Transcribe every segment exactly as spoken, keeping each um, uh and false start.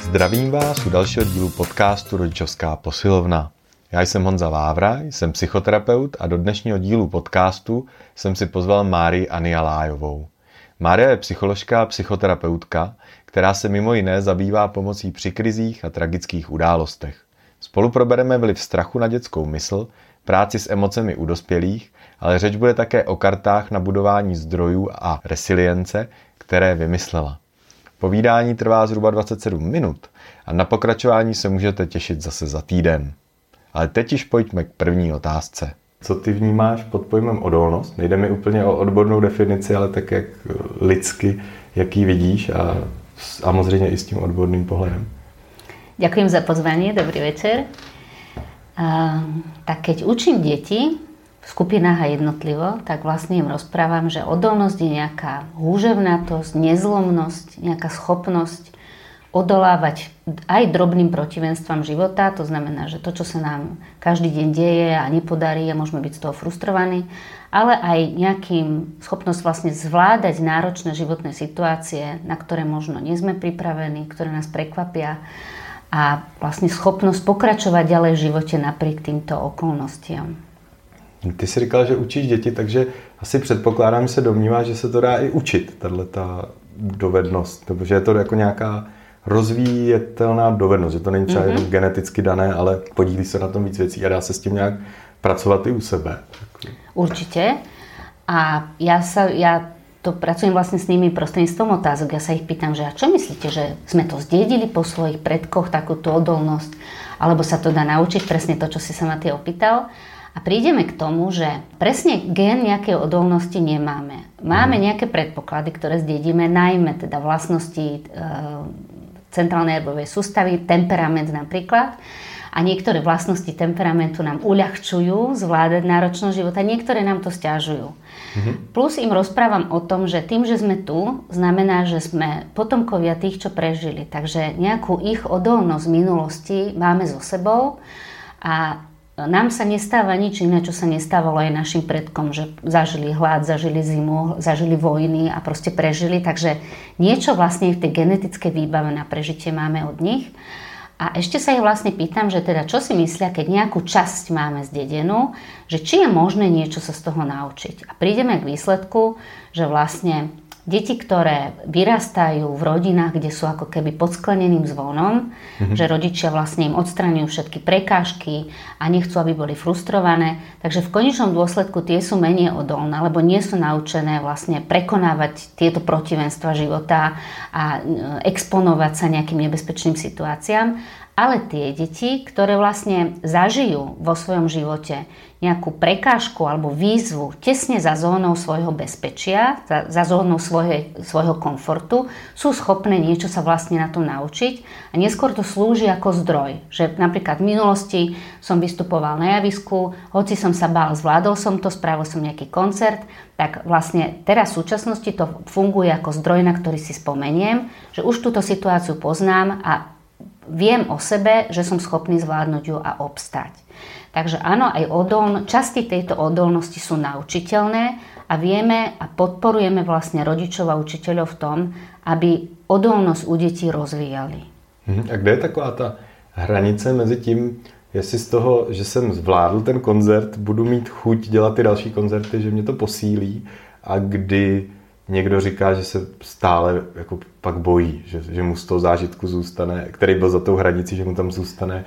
Zdravím vás u dalšího dílu podcastu Rodičovská posilovna. Já jsem Honza Vávra, jsem psychoterapeut a do dnešního dílu podcastu jsem si pozval Márii Anialájovou. Mária je psycholožka a psychoterapeutka, která se mimo jiné zabývá pomocí při krizích a tragických událostech. Spolu probereme vliv strachu na dětskou mysl, práci s emocemi u dospělých, ale řeč bude také o kartách na budování zdrojů a resilience, které vymyslela. Povídání trvá zhruba dvacet sedm minut a na pokračování se můžete těšit zase za týden. Ale teď již pojďme k první otázce. Co ty vnímáš pod pojmem odolnost? Nejde mi úplně o odbornou definici, ale tak jak lidsky, jak ji vidíš a, a samozřejmě i s tím odborným pohledem. Ďakujem za pozvanie, dobrý večer. A, tak keď učím deti v skupinách a jednotlivo, tak vlastne im rozprávam, že odolnosť je nejaká húževnatosť, nezlomnosť, nejaká schopnosť odolávať aj drobným protivenstvám života. To znamená, že to, čo sa nám každý deň deje a nepodarí a môžeme byť z toho frustrovaní, ale aj nejakým schopnosť vlastne zvládať náročné životné situácie, na ktoré možno nie sme pripravení, ktoré nás prekvapia, a vlastne schopnosť pokračovať ďalej v živote napriek týmto okolnostiam. Ty jsi říkala, že učíš děti, takže asi předpokládám, že se domníváš, že se to dá i učit, tato dovednost, protože je to jako nějaká rozvíjetelná dovednost, že to není třeba mm-hmm. geneticky dané, ale podílí se na tom víc věcí a dá se s tím nějak pracovat i u sebe. Určite. A ja sa... Ja to pracujem vlastne s nimi prostredníctvom otázok. Ja sa ich pýtam, že a čo myslíte, že sme to zdedili po svojich predkoch, takúto odolnosť, alebo sa to dá naučiť, presne to, čo si sa ma ty opýtal. A prídeme k tomu, že presne gen nejakej odolnosti nemáme. Máme nejaké predpoklady, ktoré zdedíme, najmä teda vlastnosti e, centrálnej nervovej sústavy, temperament napríklad. A niektoré vlastnosti temperamentu nám uľahčujú zvládať náročnosť života, niektoré nám to sťažujú. Mm-hmm. Plus im rozprávam o tom, že tým, že sme tu, znamená, že sme potomkovia tých, čo prežili. Takže nejakú ich odolnosť v minulosti máme so sebou a nám sa nestáva nič iné, čo sa nestávalo aj našim predkom, že zažili hlad, zažili zimu, zažili vojny a proste prežili. Takže niečo vlastne v tej genetickej výbave na prežitie máme od nich. A ešte sa ich vlastne pýtam, že teda čo si myslia, keď nejakú časť máme zdedenú, že či je možné niečo sa z toho naučiť. A prídeme k výsledku, že vlastne deti, ktoré vyrastajú v rodinách, kde sú ako keby pod skleneným zvonom, mm-hmm. že rodičia vlastne im odstraňujú všetky prekážky a nechcú, aby boli frustrované, takže v konečnom dôsledku tie sú menej odolné, lebo nie sú naučené vlastne prekonávať tieto protivenstva života a exponovať sa nejakým nebezpečným situáciám. Ale tie deti, ktoré vlastne zažijú vo svojom živote nejakú prekážku alebo výzvu tesne za zónou svojho bezpečia, za, za zónou svojho, svojho komfortu, sú schopné niečo sa vlastne na tom naučiť a neskôr to slúži ako zdroj. Že napríklad v minulosti som vystupoval na javisku, hoci som sa bál, zvládol som to, spravil som nejaký koncert, tak vlastne teraz v súčasnosti to funguje ako zdroj, na ktorý si spomeniem, že už túto situáciu poznám a viem o sebe, že som schopný zvládnuť ju a obstať. Takže áno, aj odolno, časti tejto odolnosti sú naučiteľné a vieme a podporujeme vlastne rodičov a učiteľov v tom, aby odolnosť u detí rozvíjali. A kde je taková ta hranice mezi tím, jestli z toho, že jsem zvládl ten koncert, budu mít chuť dělat ty další koncerty, že mě to posílí, a kdy někdo říká, že se stále jako pak bojí, že, že mu z toho zážitku zůstane, který byl za tou hranicí, že mu tam zůstane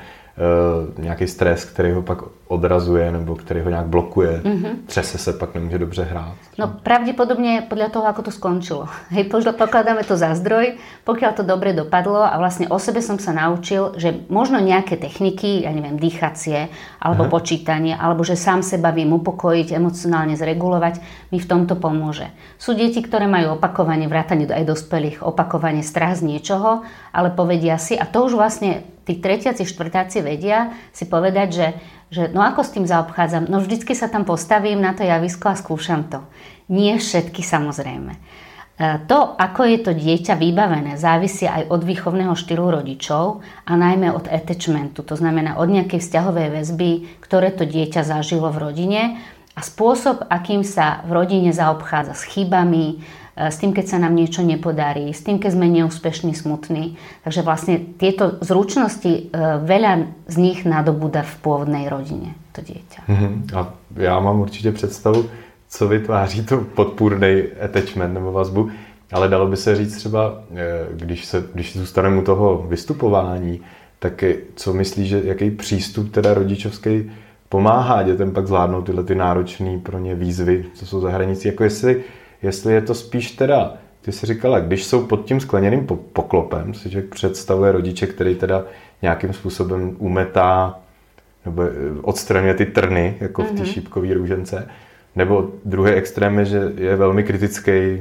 uh, nějaký stres, který ho pak odrazuje nebo který ho nějak blokuje. Mm-hmm. Třese se, pak nemůže dobře hrát. No pravdepodobne podľa toho, ako to skončilo. Hej, pokladáme to za zdroj, pokiaľ to dobre dopadlo a vlastne o sebe som sa naučil, že možno nejaké techniky, ja neviem, dýchacie alebo Aha. počítanie, alebo že sám seba viem upokojiť, emocionálne zregulovať, mi v tomto pomôže. Sú deti, ktoré majú opakovanie, vrátane aj dospelých, opakovanie strach z niečoho, ale povedia si, a to už vlastne tí tretiaci, štvrtáci vedia si povedať, že že no ako s tým zaobchádzam? No vždycky sa tam postavím na to javisko a skúšam to. Nie všetky, samozrejme. To, ako je to dieťa vybavené, závisí aj od výchovného štýlu rodičov a najmä od attachmentu, to znamená od nejakej vzťahovej väzby, ktoré to dieťa zažilo v rodine a spôsob, akým sa v rodine zaobchádza s chybami, s tým, keď sa nám niečo nepodarí, s tým, keď sme neúspešní, smutní. Takže vlastne tieto zručnosti, veľa z nich nadobúda v pôvodnej rodine, to dieťa. Mm-hmm. A já mám určitě představu, co vytváří to podpůrný attachment nebo vazbu, ale dalo by se říct třeba, když, se, když zůstaneme u toho vystupování, tak co myslíš, že jaký přístup teda rodičovský pomáhá dětem pak zvládnout tyhle ty náročné pro ně výzvy, co jsou za hranicí, jako jestli, jestli je to spíš teda, ty jsi říkala, když jsou pod tím skleněným poklopem, si člověk představuje rodiče, který teda nějakým způsobem umetá nebo odstraňuje ty trny, jako mm-hmm. v té šípkové růžence, nebo druhý extrém je, že je velmi kritický,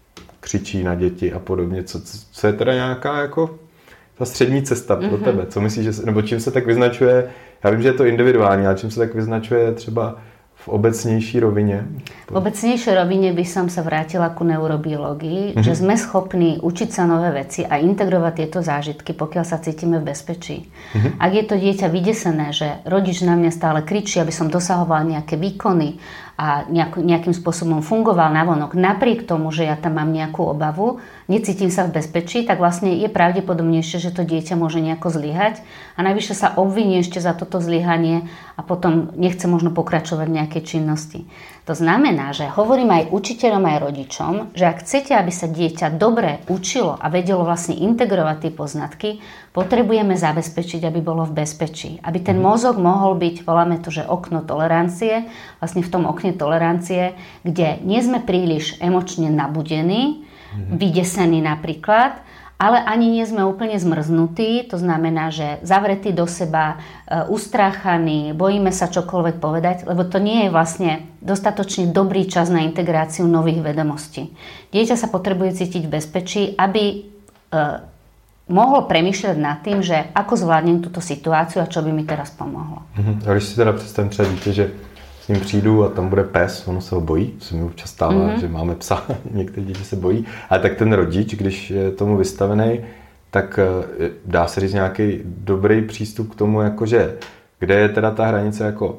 křičí na děti a podobně, co, co je teda nějaká jako ta střední cesta pro mm-hmm. tebe, co myslíš, že, nebo čím se tak vyznačuje, já vím, že je to individuální, ale čím se tak vyznačuje třeba v obecnější rovině? V obecnejšej rovine by som sa vrátila ku neurobiológii, mm-hmm. že sme schopní učiť sa nové veci a integrovať tieto zážitky, pokiaľ sa cítime v bezpečí. Mm-hmm. Ak je to dieťa vydesené, že rodič na mňa stále kričí, aby som dosahoval nejaké výkony a nejak, nejakým spôsobom fungoval navonok, napriek tomu, že ja tam mám nejakú obavu, necítim sa v bezpečí, tak vlastne je pravdepodobnejšie, že to dieťa môže nejako zlyhať a najvyššie sa obviní ešte za toto zlyhanie a potom nechce možno pokračovať v nejakej činnosti. To znamená, že hovorím aj učiteľom, aj rodičom, že ak chcete, aby sa dieťa dobre učilo a vedelo vlastne integrovať tie poznatky, potrebujeme zabezpečiť, aby bolo v bezpečí. Aby ten mozog mohol byť, voláme to, že okno tolerancie, vlastne v tom okne tolerancie, kde nie sme príliš emočne nabudení, mm-hmm. vydesení napríklad, ale ani nie sme úplne zmrznutí, to znamená, že zavretí do seba, ustráchaní, bojíme sa čokoľvek povedať, lebo to nie je vlastne dostatočne dobrý čas na integráciu nových vedomostí. Dieťa sa potrebuje cítiť v bezpečí, aby e, mohol premýšľať nad tým, že ako zvládnem túto situáciu a čo by mi teraz pomohlo. Mhm. A když si teda představím třeba dítě, že s ním přijdu a tam bude pes, ono se ho bojí, se mi občas stává, mm-hmm. že máme psa, některé děti se bojí, ale tak ten rodič, když je tomu vystavený, tak dá se říct nějaký dobrý přístup k tomu, jakože kde je teda ta hranice, jako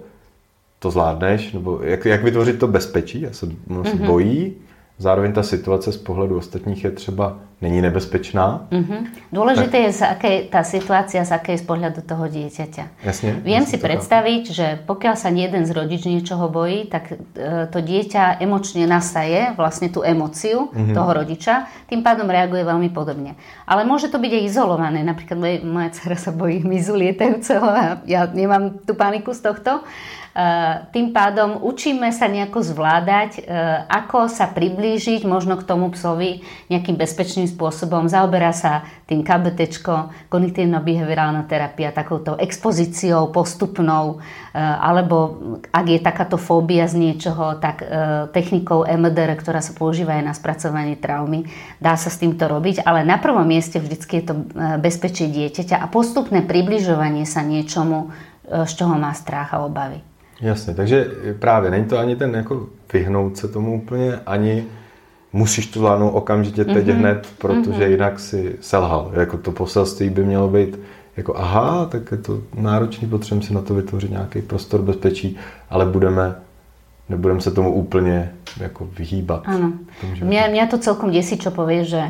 to zvládneš, nebo jak, jak vytvořit to bezpečí, já se, ono se mm-hmm. bojí, zároveň ta situace z pohledu ostatních je třeba není nebezpečná. Mm-hmm. Dôležité tak je, z akej, tá situácia, z akej z pohľadu toho dieťaťa. Jasne, Viem si predstaviť, chápu. Že pokiaľ sa jeden z rodič niečoho bojí, tak e, to dieťa emočne nasaje vlastne tú emóciu mm-hmm. toho rodiča, tým pádom reaguje veľmi podobne. Ale môže to byť aj izolované. Napríklad moja, moja dcera sa bojí hmyzu lietajúceho a ja nemám tú paniku z tohto. Uh, tým pádom učíme sa nejako zvládať, uh, ako sa priblížiť možno k tomu psovi nejakým bezpečným spôsobom. Zaoberá sa tým ká bé téčko, kognitívno-behaviorálna terapia, takouto expozíciou postupnou, uh, alebo ak je takáto fóbia z niečoho, tak uh, technikou em dé er, ktorá sa používa aj na spracovanie traumy, dá sa s týmto robiť, ale na prvom mieste vždycky je to uh, bezpečie dieťaťa a postupné približovanie sa niečomu, uh, z čoho má strach a obavy. Jasně, takže právě není to ani ten jako vyhnout se tomu úplně, ani musíš to zvládnout okamžitě teď mm-hmm. hned, protože mm-hmm. jinak si selhal. Jako to poselství by mělo být jako aha, tak je to náročný, potřebujeme si na to vytvořit nějaký prostor bezpečí, ale budeme, nebudeme se tomu úplně jako vyhýbat. Áno. Mňa, mňa to celkom desí, čo povie, že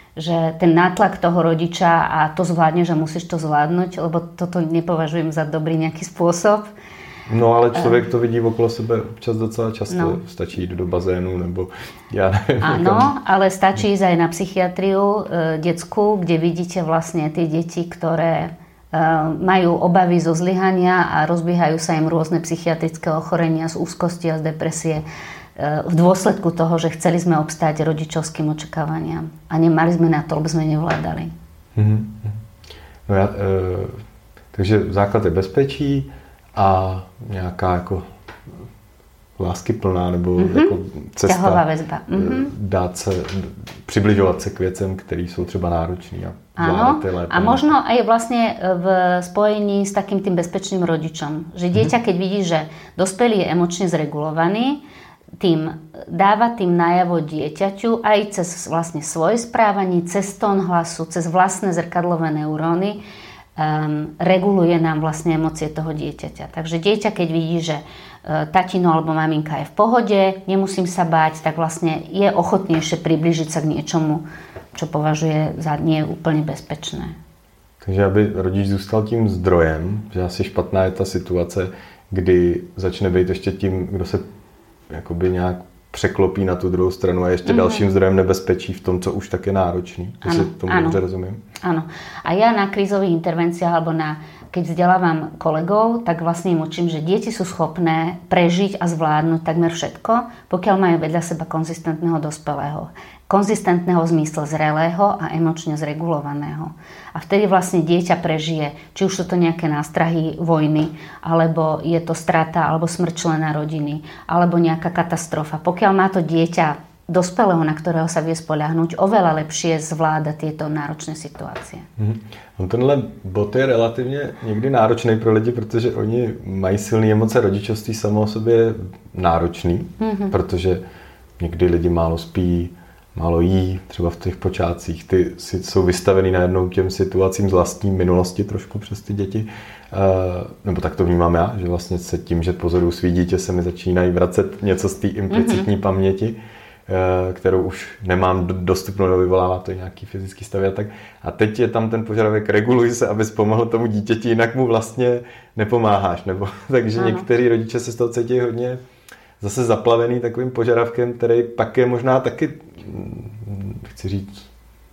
že ten nátlak toho rodiča a to zvládne, že musíš to zvládnuť, lebo toto nepovažujem za dobrý nejaký spôsob. No ale člověk to vidí okolo sebe občas docela často. No. Stačí jít do bazénu, nebo já nevím. Áno, ale stačí ísť aj na psychiatriu e, detskú, kde vidíte vlastne tie deti, ktoré e, majú obavy zo zlyhania a rozbiehajú sa im rôzne psychiatrické ochorenia z úzkosti a z depresie e, v dôsledku toho, že chceli sme obstáť rodičovským očakávaniam. A nemali sme na to, lebo sme nevládali. Mm-hmm. No ja, e, takže základ je bezpečí, a nějaká jako láskyplná nebo mm-hmm. jako cesta väzba. Mm-hmm. dát se, přibližovat se k věcem, které jsou třeba náročné. Áno, a možno aj vlastne v spojení s takým tým bezpečným rodičom. Že dieťa, keď vidí, že dospelý je emočne zregulovaný, tým dáva tým najavo dieťaťu aj cez vlastne svoje správanie, cez tón hlasu, cez vlastné zrkadlové neuróny, Um, reguluje nám vlastne emócie toho dieťaťa. Takže dieťa, keď vidí, že tatino alebo maminka je v pohode, nemusím sa báť, tak vlastne je ochotnejšie priblížiť sa k niečomu, čo považuje za nie úplně bezpečné. Takže aby rodič zůstal tím zdrojem, že asi špatná je ta situace, kdy začne být ještě tím, kdo se jakoby nějak překlopí na tu druhou stranu a ještě mm-hmm. dalším zdrojem nebezpečí v tom, co už tak je náročný. To si tomu dobře rozumím. Áno. A ja na krízových intervenciách alebo na, keď vzdelávam kolegov, tak vlastne im učím, že deti sú schopné prežiť a zvládnuť takmer všetko, pokiaľ majú vedľa seba konzistentného dospelého. Konzistentného v zmysle zrelého a emočne zregulovaného. A vtedy vlastne dieťa prežije, či už sú to nejaké nástrahy vojny, alebo je to strata alebo smrť člena rodiny, alebo nejaká katastrofa. Pokiaľ má to dieťa dospelého, na ktorého sa vie spoľahnúť, oveľa lepšie zvláda tieto náročné situácie. Mm. On tenhle bod je relativně někdy náročný pro lidi, protože oni mají silné emoce, rodičovství samo o sobě náročný, mm-hmm. protože někdy lidi málo spí, málo jí, třeba v těch počátcích, ty si, jsou vystavený najednou těm situacím z vlastní minulosti trošku přes ty děti. Uh, nebo tak to vnímám já, že vlastně se tím, že pozoruju svý dítě, se mi začínají vracet něco z té implicitní mm-hmm. paměti, uh, kterou už nemám dostupnou, do vyvolává to nějaký fyzický stav a tak. A teď je tam ten požadavek, reguluj se, abys pomohl tomu dítěti, jinak mu vlastně nepomáháš. Nebo, takže ano. Některý rodiče se z toho cítí hodně zase zaplavený takovým požadavkem, který pak je možná taky, chci říct,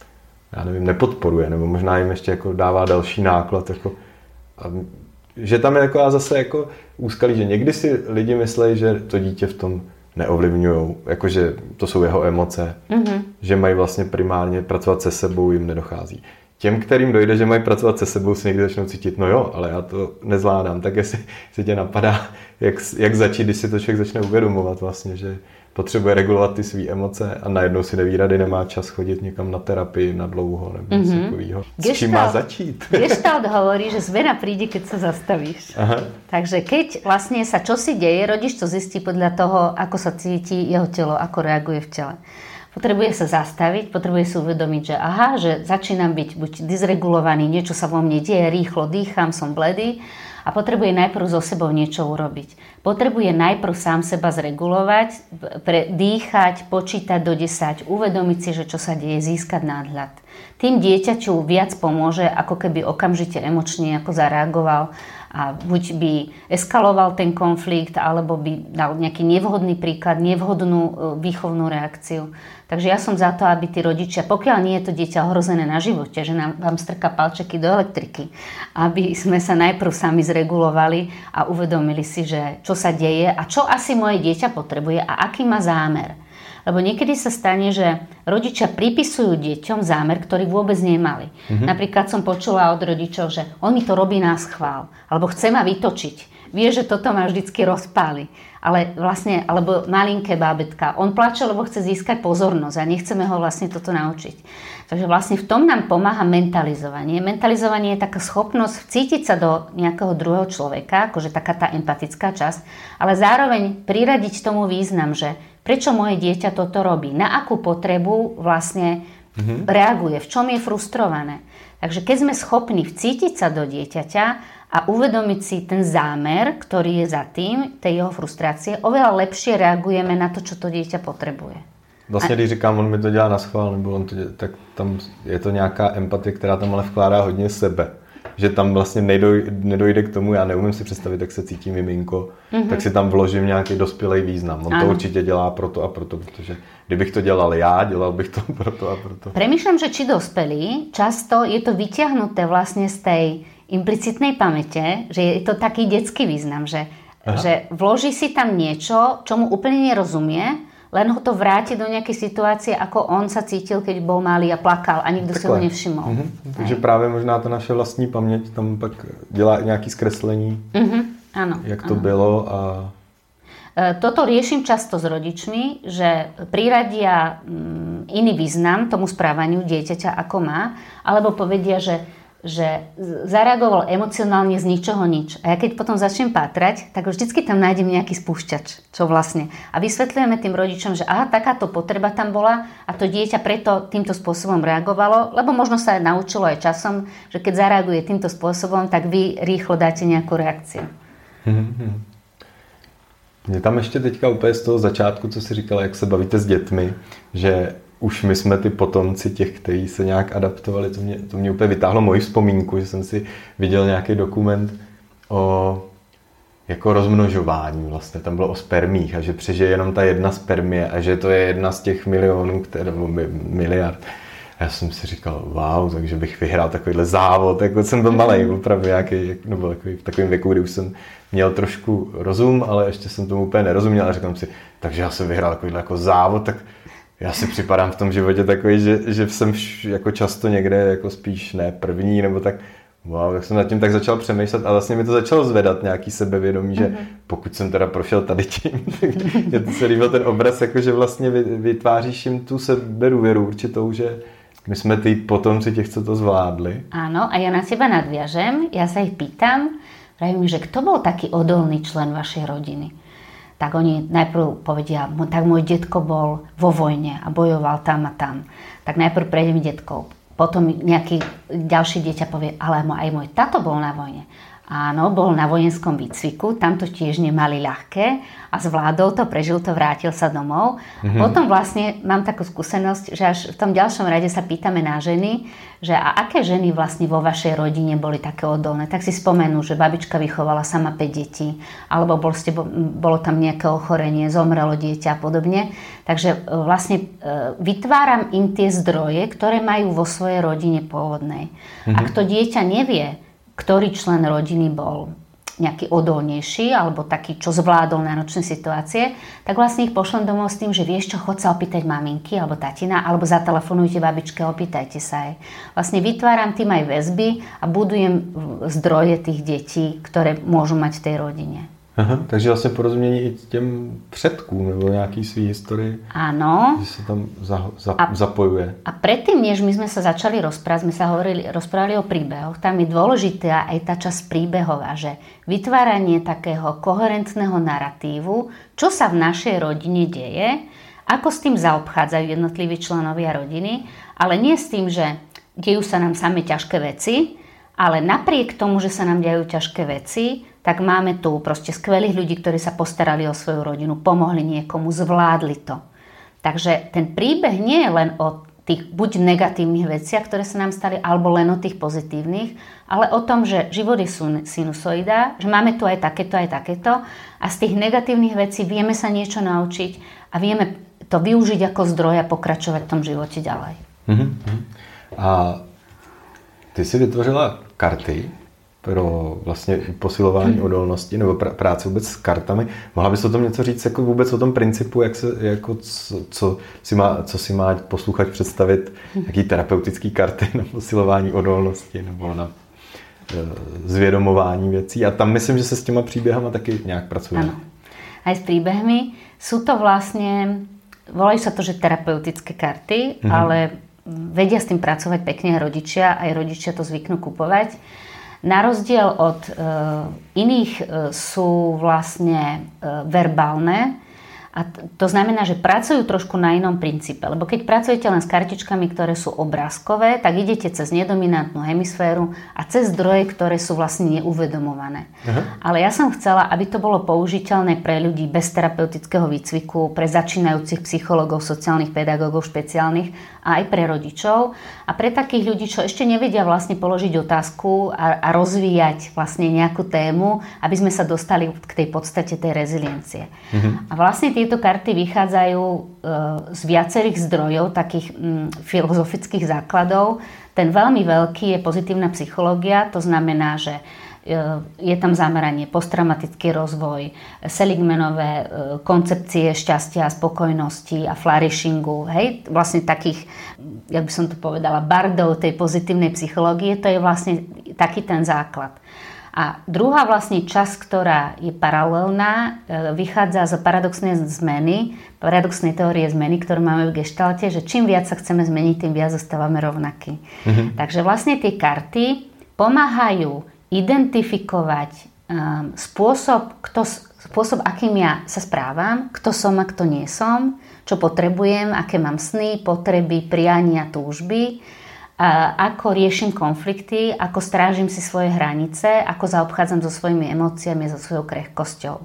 já nevím, nepodporuje, nebo možná jim ještě jako dává další náklad. Jako, a, že tam je jako a zase jako úskalí, že někdy si lidi myslejí, že to dítě v tom neovlivňujou, jakože to jsou jeho emoce, mm-hmm. že mají vlastně primárně pracovat se sebou, jim nedochází. Těm, kterým dojde, že mají pracovat se sebou, si někdy začnou cítit, no jo, ale já to nezvládám, tak jestli si tě napadá, jak, jak začít, když si to člověk začne uvědomovat vlastně, že potřebuje regulovat ty své emoce a najednou si neví rady, nemá čas chodit někam na terapii na dlouho nebo něco mm-hmm. takového. S čím má začít? Gestalt hovorí, že zmena príde, keď sa zastavíš. Aha. Takže keď vlastne sa čosi deje, rodič to zistí podľa toho, ako sa cíti jeho telo, ako reaguje v tele. Potrebuje sa zastaviť, potrebuje si uvedomiť, že aha, že začínam byť buď dysregulovaný, niečo sa vo mne deje, rýchlo dýcham, som bledý a potrebuje najprv so sebou niečo urobiť. Potrebuje najprv sám seba zregulovať, pre, dýchať, počítať do desať, uvedomiť si, že čo sa deje, získať náhľad. Tým dieťaťu viac pomôže, ako keby okamžite emočne ako zareagoval a buď by eskaloval ten konflikt, alebo by dal nejaký nevhodný príklad, nevhodnú výchovnú reakciu. Takže ja som za to, aby tí rodičia, pokiaľ nie je to dieťa ohrozené na živote, že nám vám strká palčeky do elektriky, aby sme sa najprv sami zregulovali a uvedomili si, že čo sa deje a čo asi moje dieťa potrebuje a aký má zámer. Lebo niekedy sa stane, že rodičia pripisujú deťom zámer, ktorý vôbec nemali. Mm-hmm. Napríklad som počula od rodičov, že on mi to robí na schvál, alebo chce ma vytočiť. Vie, že toto ma vždycky rozpáli. Ale vlastne, alebo malinké bábätka, on plače, lebo chce získať pozornosť a nechceme ho vlastne toto naučiť. Takže vlastne v tom nám pomáha mentalizovanie. Mentalizovanie je taká schopnosť vcítiť sa do nejakého druhého človeka, akože taká tá empatická časť, ale zároveň priradiť tomu význam, že prečo moje dieťa toto robí, na akú potrebu vlastne mm-hmm. reaguje, v čom je frustrované. Takže keď sme schopní vcítiť sa do dieťaťa a uvedomiť si ten zámer, ktorý je za tým, tej jeho frustrácie, oveľa lepšie reagujeme na to, čo to dieťa potrebuje. Vlastně, když říkám, on mi to dělá na schvál, nebo on to dělá, tak tam je to nějaká empatie, která tam ale vkládá hodně sebe. Že tam vlastně nedoj, nedojde k tomu, já neumím si představit, jak se cítí miminko, mm-hmm. tak si tam vložím nějaký dospělý význam. On ano. to určitě dělá proto a proto, protože kdybych to dělal já, dělal bych to proto a proto. Premýšľam, že či dospelí, často je to vyťahnuté vlastne z tej implicitnej pamäte, že je to taký detský význam, že, že vloží si tam niečo, čomu úplne nerozumie, len ho to vráti do nejakej situácie, ako on sa cítil, keď bol malý a plakal a nikto si ho nevšimol. Mm-hmm. Takže právě možná ta naše vlastní paměť tam pak dělá nějaký zkreslení, mm-hmm. ano, jak to ano. bylo. A... Toto riešim často s rodičmi, že priradia iný význam tomu správaniu dieťaťa, ako má, alebo povedia, že že zareagoval emocionálne z ničoho nič. A ja keď potom začnem pátrať, tak vždycky tam nájdem nejaký spúšťač, čo vlastne. A vysvetľujeme tým rodičom, že aha, takáto potreba tam bola a to dieťa preto týmto spôsobom reagovalo, lebo možno sa aj naučilo aj časom, že keď zareaguje týmto spôsobom, tak vy rýchlo dáte nejakú reakciu. Mě tam ještě teďka úplně z toho začátku, co jsi říkala, jak se bavíte s dětmi, že už my jsme ty potomci těch, kteří se nějak adaptovali, to mě, to mě úplně vytáhlo moji vzpomínku, že jsem si viděl nějaký dokument o jako rozmnožování vlastně, tam bylo o spermích a že přežije jenom ta jedna spermie a že to je jedna z těch milionů, které, nebo miliard. A já jsem si říkal, wow, takže bych vyhrál takovýhle závod, jako jsem byl malej, opravdu nějaký, nebo takový, v takovém věku, kdy už jsem měl trošku rozum, ale ještě jsem tomu úplně nerozuměl a říkám si, takže já jsem vyhrál takovýhle jako závod, tak já si připadám v tom životě takový, že, že jsem jako často někde jako spíš ne první, nebo tak. Wow, tak jsem nad tím tak začal přemýšlet a vlastně mi to začalo zvedat nějaký sebevědomí, že mm-hmm. pokud jsem teda prošel tady tím, mě to se líbil ten obraz, jako že vlastně vytváříš jim tu sebedůvěru určitou, že my jsme tí potomci těch, co to zvládli. Áno, a ja na teba nadviažem, ja sa ich pýtam, pravím, že kto bol taký odolný člen vašej rodiny? Tak oni najprv povedia, tak môj detko bol vo vojne a bojoval tam a tam. Tak najprv prejdem detkov. Potom nejaký ďalší dieťa povie, ale aj môj tato bol na vojne. Áno, bol na vojenskom výcviku, tam to tiež nemali ľahké a zvládol to, prežil to, vrátil sa domov. Mm-hmm. Potom vlastne mám takú skúsenosť, že až v tom ďalšom rade sa pýtame na ženy, že a aké ženy vlastne vo vašej rodine boli také odolné. Tak si spomenú, že babička vychovala sama päť detí, alebo bol ste, bolo tam nejaké ochorenie, zomrelo dieťa a podobne. Takže vlastne vytváram im tie zdroje, ktoré majú vo svojej rodine pôvodnej. Mm-hmm. Ak to dieťa nevie, ktorý člen rodiny bol nejaký odolnejší alebo taký, čo zvládol náročné situácie, tak vlastne ich pošlem domov s tým, že vieš čo, chod sa opýtať maminky alebo tatina, alebo zatelefonujte babičke, opýtajte sa jej. Vlastne vytváram tým aj väzby a budujem zdroje tých detí, ktoré môžu mať v tej rodine. Aha, takže vlastně porozumění i těm předkům nebo nějaký svý historii. Áno. Že se tam za, za, a, zapojuje. A predtým, než my sme sa začali rozprávať, sme sa hovorili, rozprávali o príbehoch, tam je dôležitá aj tá časť príbehová, že vytváranie takého koherentného naratívu, čo sa v našej rodine deje, ako s tým zaobchádzajú jednotliví členovia rodiny, ale nie s tým, že dejú sa nám same ťažké veci, ale napriek tomu, že sa nám dejú ťažké veci, tak máme tu proste skvelých ľudí, ktorí sa postarali o svoju rodinu, pomohli niekomu, zvládli to. Takže ten príbeh nie je len o tých buď negatívnych veciach, ktoré sa nám stali, alebo len o tých pozitívnych, ale o tom, že život je sinusoida, že máme tu aj takéto, aj takéto a z tých negatívnych vecí vieme sa niečo naučiť a vieme to využiť ako zdroj a pokračovať v tom živote ďalej. Mm-hmm. A ty si vytvořila karty pro vlastně posilování hmm. odolnosti nebo pr- práce vůbec s kartami. Mohla bys o tom něco říct jako vůbec o tom principu, jak se, jako co, co, si má, co si má posluchač představit, hmm. jaký terapeutický karty na posilování odolnosti nebo na e, zvědomování věcí. A tam myslím, že se s těma příběhama taky nějak pracuje. Ano. Aj s príbehmi. Sú to vlastne, volajú sa to, že terapeutické karty, hmm. ale vedia s tým pracovať pekne rodičia, aj rodičia to zvyknú kupovať. Na rozdiel od e, iných e, sú vlastne e, verbálne a t- to znamená, že pracujú trošku na inom princípe, lebo keď pracujete len s kartičkami, ktoré sú obrázkové, tak idete cez nedominantnú hemisféru a cez zdroje, ktoré sú vlastne neuvedomované. Aha. Ale ja som chcela, aby to bolo použiteľné pre ľudí bez terapeutického výcviku, pre začínajúcich psychológov, sociálnych pedagógov špeciálnych a aj pre rodičov a pre takých ľudí, čo ešte nevedia vlastne položiť otázku a, a rozvíjať vlastne nejakú tému, aby sme sa dostali k tej podstate tej reziliencie. Mhm. A vlastne tieto karty vychádzajú e, z viacerých zdrojov, takých m, filozofických základov. Ten veľmi veľký je pozitívna psychológia, to znamená, že je tam zameranie posttraumatický rozvoj, Seligmanové koncepcie šťastia a spokojnosti a flourishingu, hej, vlastne takých, jak by som to povedala, bardov tej pozitívnej psychológie, to je vlastne taký ten základ. A druhá vlastne časť, ktorá je paralelná, vychádza z paradoxnej zmeny, paradoxnej teórie zmeny, ktorú máme v geštalte, že čím viac sa chceme zmeniť, tým viac zostávame rovnakí. Mhm. Takže vlastne tie karty pomáhajú identifikovať um, spôsob, kto, spôsob, akým ja sa správam, kto som a kto nie som, čo potrebujem, aké mám sny, potreby, priania, túžby, a ako riešim konflikty, ako strážim si svoje hranice, ako zaobchádzam so svojimi emóciami, so svojou krehkosťou.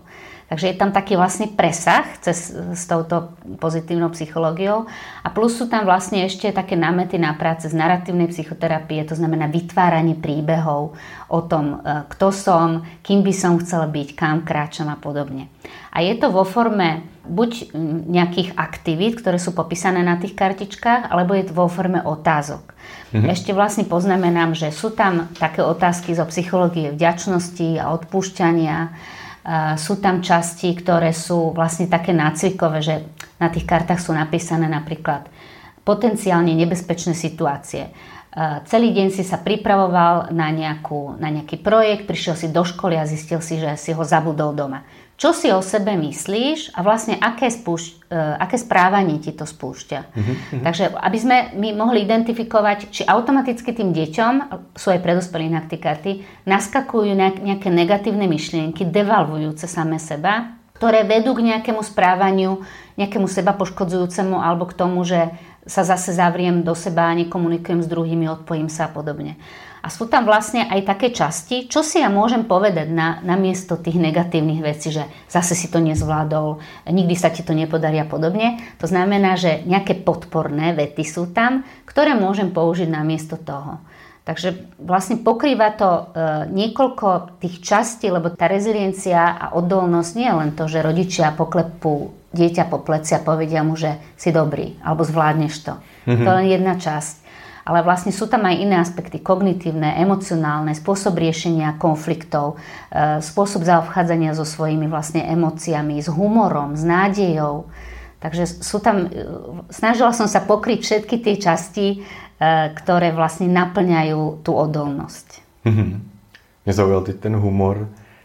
Takže je tam taký vlastne presah cez, s touto pozitívnou psychológiou a plus sú tam vlastne ešte také námety na práce z naratívnej psychoterapie, to znamená vytváranie príbehov o tom, kto som, kým by som chcel byť, kam kráčam a podobne. A je to vo forme buď nejakých aktivít, ktoré sú popísané na tých kartičkách, alebo je to vo forme otázok. Mhm. Ešte vlastne poznamenám, že sú tam také otázky zo psychológie vďačnosti a odpúšťania. Sú tam časti, ktoré sú vlastne také nácvikové, že na tých kartách sú napísané napríklad potenciálne nebezpečné situácie. Celý deň si sa pripravoval na, nejakú, na nejaký projekt, prišiel si do školy a zistil si, že si ho zabudol doma. Čo si o sebe myslíš a vlastne aké, spúšť, aké správanie ti to spúšťa. Uh-huh. Takže aby sme my mohli identifikovať, či automaticky tým deťom, sú aj predospelí na tie karty, naskakujú nejaké negatívne myšlienky, devalvujúce same seba, ktoré vedú k nejakému správaniu, nejakému seba poškodzujúcemu alebo k tomu, že sa zase zavriem do seba, nekomunikujem s druhými, odpojím sa a podobne. A sú tam vlastne aj také časti, čo si ja môžem povedať na, na miesto tých negatívnych vecí, že zase si to nezvládol, nikdy sa ti to nepodarí a podobne. To znamená, že nejaké podporné vety sú tam, ktoré môžem použiť na miesto toho. Takže vlastne pokrýva to e, niekoľko tých častí, lebo tá reziliencia a odolnosť nie je len to, že rodičia poklepú dieťa po pleci a povedia mu, že si dobrý, alebo zvládneš to. Mm-hmm. To je len jedna časť. Ale vlastne sú tam aj iné aspekty, kognitívne, emocionálne, spôsob riešenia konfliktov, spôsob zaobchádzania so svojimi vlastne emóciami, s humorom, s nádejou. Takže sú tam, snažila som sa pokryť všetky tie časti, ktoré vlastne naplňajú tú odolnosť. Mm-hmm. Mě zaujal teď ten humor,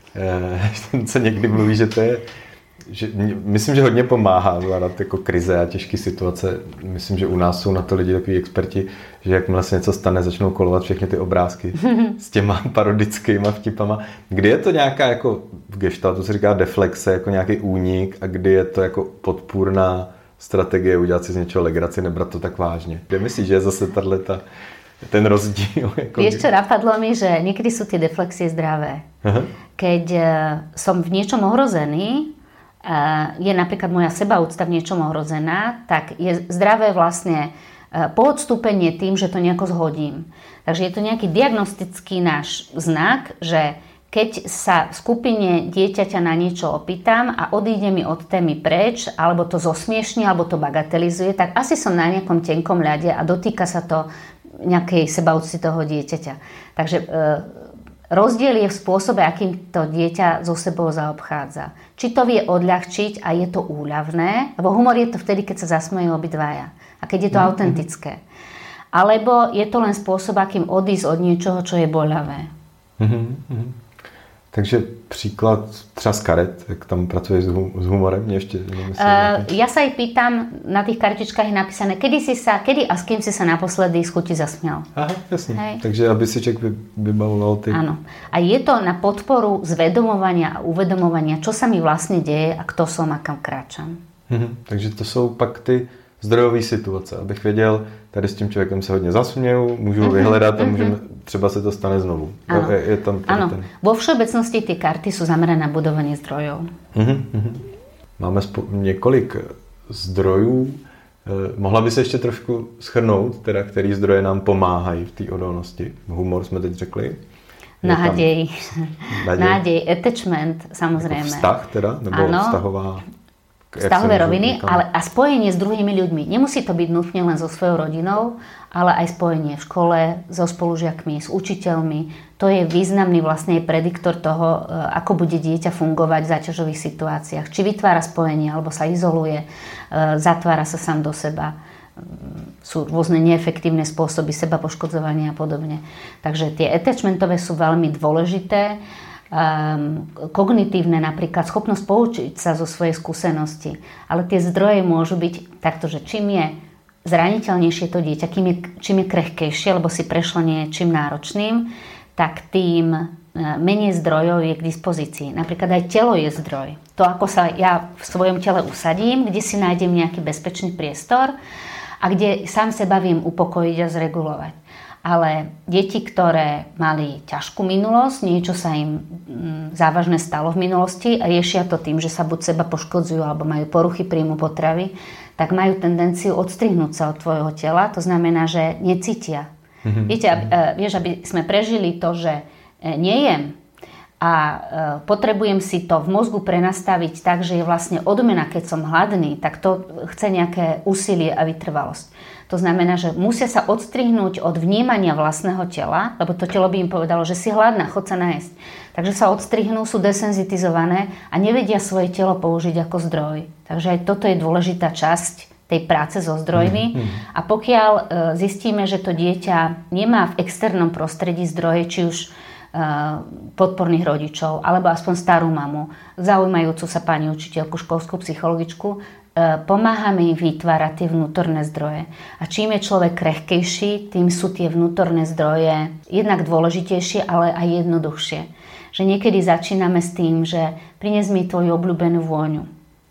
ten se někdy mluví, že to je, že, myslím, že hodně pomáhá zvládat jako krize a těžké situace. Myslím, že u nás jsou na to lidi takový experti, že jakmile se něco stane, začnou kolovat všechny ty obrázky s těma parodickýma vtipama. Kdy je to nějaká jako v gestaltu se říká deflexe, jako nějaký únik a kdy je to jako podpůrná strategie udělat si z něčeho legraci, nebrat to tak vážně. Kde myslíš, že je zase tato, ten rozdíl? Jako... Vieš čo, napadlo mi, že niekedy sú tie deflexie zdravé. Aha. Keď som v niečom ohrozený, je napríklad moja sebaúcta v niečom ohrozená, tak je zdravé vlastne poodstúpenie tým, že to nejako zhodím. Takže je to nejaký diagnostický náš znak, že keď sa v skupine dieťaťa na niečo opýtam a odíde mi od témy preč, alebo to zosmiešni, alebo to bagatelizuje, tak asi som na nejakom tenkom ľade a dotýka sa to nejakej sebaúcty toho dieťaťa. Takže e, rozdiel je v spôsobe, akým to dieťa so sebou zaobchádza. Či to vie odľahčiť a je to úľavné, lebo humor je to vtedy, keď sa zasmejú obidvaja a keď je to mm-hmm. autentické. Alebo je to len spôsob, akým odísť od niečoho, čo je boľavé. Mm-hmm. Takže příklad třeba z karet, jak tam pracuješ s humorem? Mě ještě nemyslím, uh, ja sa aj pýtam, na tých kartičkách je napísané, kedy si sa, kedy a s kým si sa naposledy z chuti zasmial. Aha, jasně. Hej. Takže aby si človek vybavoval ty... Áno. A je to na podporu zvedomovania a uvedomovania, čo sa mi vlastne deje a kto som a kam kráčam. Mhm. Takže to jsou pak ty zdrojové situace, abych věděl, tady s tím člověkem se hodně zasměju, můžu ho mm-hmm, vyhledat a můžeme, mm-hmm. třeba se to stane znovu. Áno. Je, je tam Áno. ten... Vo všeobecnosti tie karty sú zamerané na budovanie zdrojov. Mm-hmm. Máme spo- několik zdrojů. Mohla by se ještě trošku shrnout, teda, který zdroje nám pomáhají v té odolnosti? Humor jsme teď řekli. Nádej. Nádej, attachment, samozrejme. Jako vztah teda? Nebo ano. vztahová... Vztahové roviny, ale a spojenie s druhými ľuďmi. Nemusí to byť nutne len so svojou rodinou, ale aj spojenie v škole, so spolužiakmi, s učiteľmi. To je významný vlastne prediktor toho, ako bude dieťa fungovať v záťažových situáciách. Či vytvára spojenie, alebo sa izoluje, zatvára sa sám do seba. Sú rôzne neefektívne spôsoby seba poškodzovania a podobne. Takže tie attachmentové sú veľmi dôležité. Um, kognitívne napríklad, schopnosť poučiť sa zo svojej skúsenosti. Ale tie zdroje môžu byť takto, že čím je zraniteľnejšie to dieťa, čím je, čím je krehkejšie, lebo si prešlo niečím náročným, tak tým menej zdrojov je k dispozícii. Napríklad aj telo je zdroj. To, ako sa ja v svojom tele usadím, kde si nájdem nejaký bezpečný priestor a kde sám seba viem upokojiť a zregulovať. Ale deti, ktoré mali ťažkú minulosť, niečo sa im závažné stalo v minulosti a riešia to tým, že sa buď seba poškodzujú alebo majú poruchy príjmu potravy, tak majú tendenciu odstrihnúť sa od tvojho tela. To znamená, že necítia. Mm-hmm. Viete, aby, vieš, aby sme prežili to, že nejem a potrebujem si to v mozgu prenastaviť tak, že je vlastne odmena, keď som hladný, tak to chce nejaké úsilie a vytrvalosť. To znamená, že musia sa odstrihnúť od vnímania vlastného tela, lebo to telo by im povedalo, že si hladná, chod sa najesť. Takže sa odstrihnú, sú desenzitizované a nevedia svoje telo použiť ako zdroj. Takže aj toto je dôležitá časť tej práce so zdrojmi. Mm, mm. A pokiaľ zistíme, že to dieťa nemá v externom prostredí zdroje, či už podporných rodičov, alebo aspoň starú mamu, zaujímajúcu sa pani učiteľku, školskú psychologičku, pomáhame im vytvárať tie vnútorné zdroje. A čím je človek krehkejší, tým sú tie vnútorné zdroje jednak dôležitejšie, ale aj jednoduchšie. Že niekedy začíname s tým, že prines mi tvoju obľúbenú vôňu,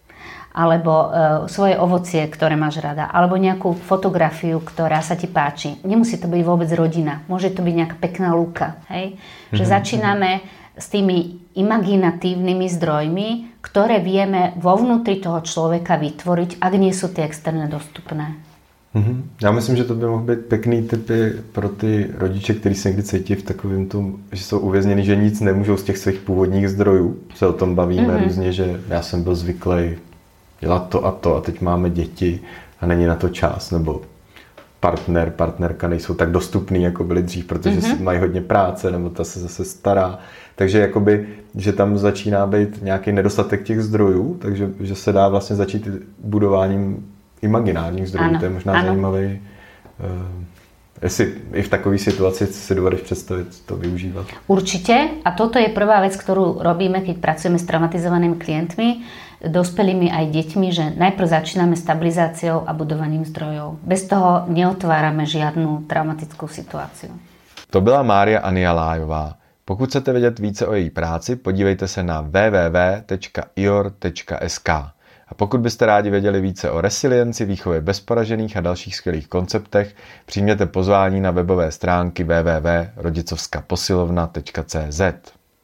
alebo e, svoje ovocie, ktoré máš rada, alebo nejakú fotografiu, ktorá sa ti páči. Nemusí to byť vôbec rodina, môže to byť nejaká pekná lúka. Hej? Že mm-hmm. začíname s tými imaginatívnymi zdrojmi, ktoré vieme vo vnútri toho človeka vytvoriť, ak nie sú tie externé dostupné. Mm-hmm. Já myslím, že to by mohl být pekný tipy pro ty rodiče, kteří se někdy cítí v takovém tom, že jsou uvězněni, že nic nemůžou z těch svých původních zdrojů. Se o tom bavíme mm-hmm. různě, že já jsem byl zvyklý dělat to a to a teď máme děti a není na to čas, nebo partner, partnerka nejsou tak dostupný, jako byli dřív, protože mm-hmm. mají hodně práce, nebo ta se zase stará. Takže jakoby, že tam začíná být nějaký nedostatek těch zdrojů, takže že se dá vlastně začít budováním imaginárních zdrojů. Ano, to je možná ano. zajímavý. Uh, jestli i v takové situaci si dovedeš představit to využívat. Určite. A toto je prvá vec, ktorú robíme, keď pracujeme s traumatizovanými klientmi, dospelými aj deťmi, že najprv začíname stabilizáciou a budovaním zdrojov. Bez toho neotvárame žiadnu traumatickú situáciu. To byla Mária Ania Lájová. Pokud chcete vědět více o její práci, podívejte se na w w w tečka i o r tečka s k. A pokud byste rádi věděli více o resilienci, výchově bezporažených a dalších skvělých konceptech, přijměte pozvání na webové stránky w w w tečka rodicovská posilovna tečka c z.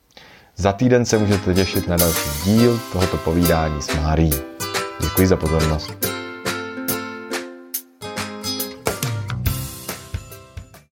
Za týden se můžete těšit na další díl tohoto povídání s Márií. Děkuji za pozornost.